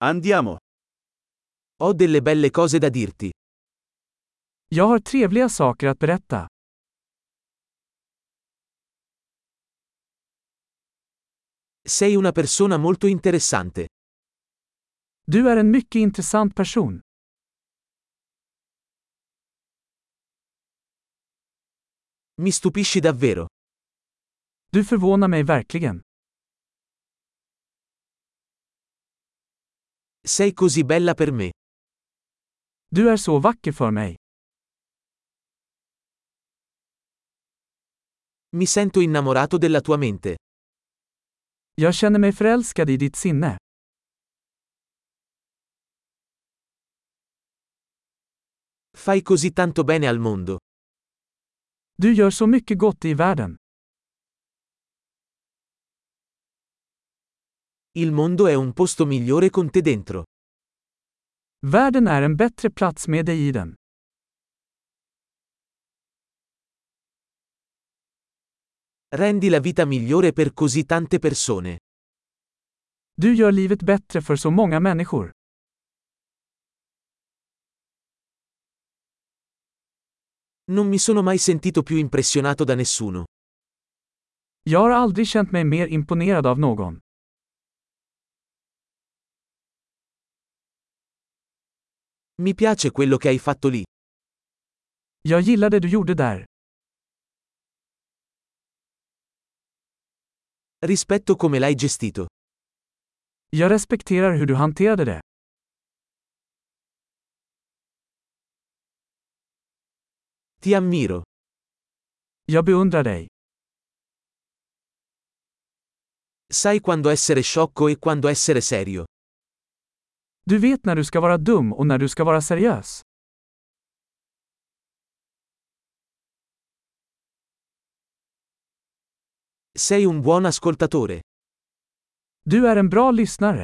Andiamo. Ho delle belle cose da dirti. Jag har trevliga saker att berätta. Sei una persona molto interessante. Du är en mycket intressant person. Mi stupisci davvero. Du förvånar mig verkligen. Sei così bella per me. Du är så vacker för mig. Mi sento innamorato della tua mente. Jag känner mig förälskad i ditt sinne. Fai così tanto bene al mondo. Du gör så mycket gott i världen. Il mondo è un posto migliore con te dentro. Världen är en bättre plats med dig i den. Rendi la vita migliore per così tante persone. Du gör livet bättre för så många människor. Non mi sono mai sentito più impressionato da nessuno. Jag har aldrig känt mig mer imponerad av någon. Mi piace quello che hai fatto lì. Jag gillar det du gjorde där. Rispetto come l'hai gestito. Jag respekterar hur du hanterade det. Ti ammiro. Jag beundrar dig. Sai quando essere sciocco e quando essere serio. Du vet när du ska vara dum och när du ska vara seriös. Sei un buon ascoltatore. Du är en bra lyssnare.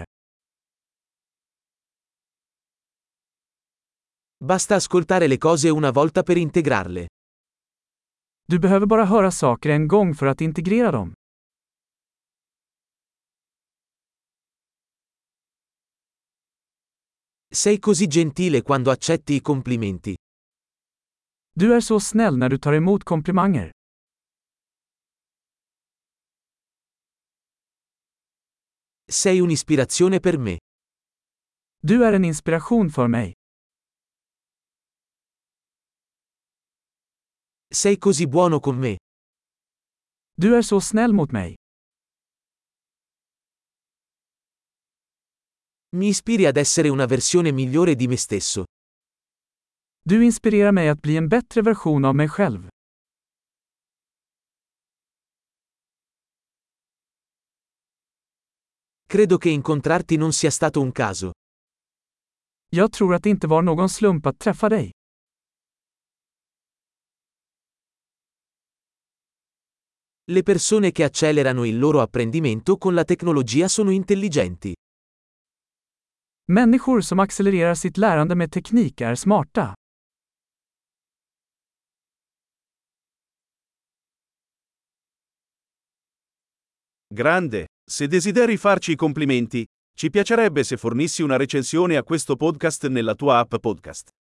Basta ascoltare le cose una volta per integrarle. Du behöver bara höra saker en gång för att integrera dem. Sei così gentile quando accetti i complimenti. Du är så snäll när du tar emot komplimanger. Sei un'ispirazione per me. Du är en inspiration för mig. Sei così buono con me. Du är så snäll mot mig. Mi ispiri ad essere una versione migliore di me stesso. Du inspirerar mig att bli en bättre version av mig själv. Credo che incontrarti non sia stato un caso. Jag tror att det inte var någon slump att träffa dig. Le persone che accelerano il loro apprendimento con la tecnologia sono intelligenti. Människor som accelererar sitt lärande med teknik är smarta. Grande. Se desideri farci i complimenti, ci piacerebbe se fornissi una recensione a questo podcast nella tua app podcast.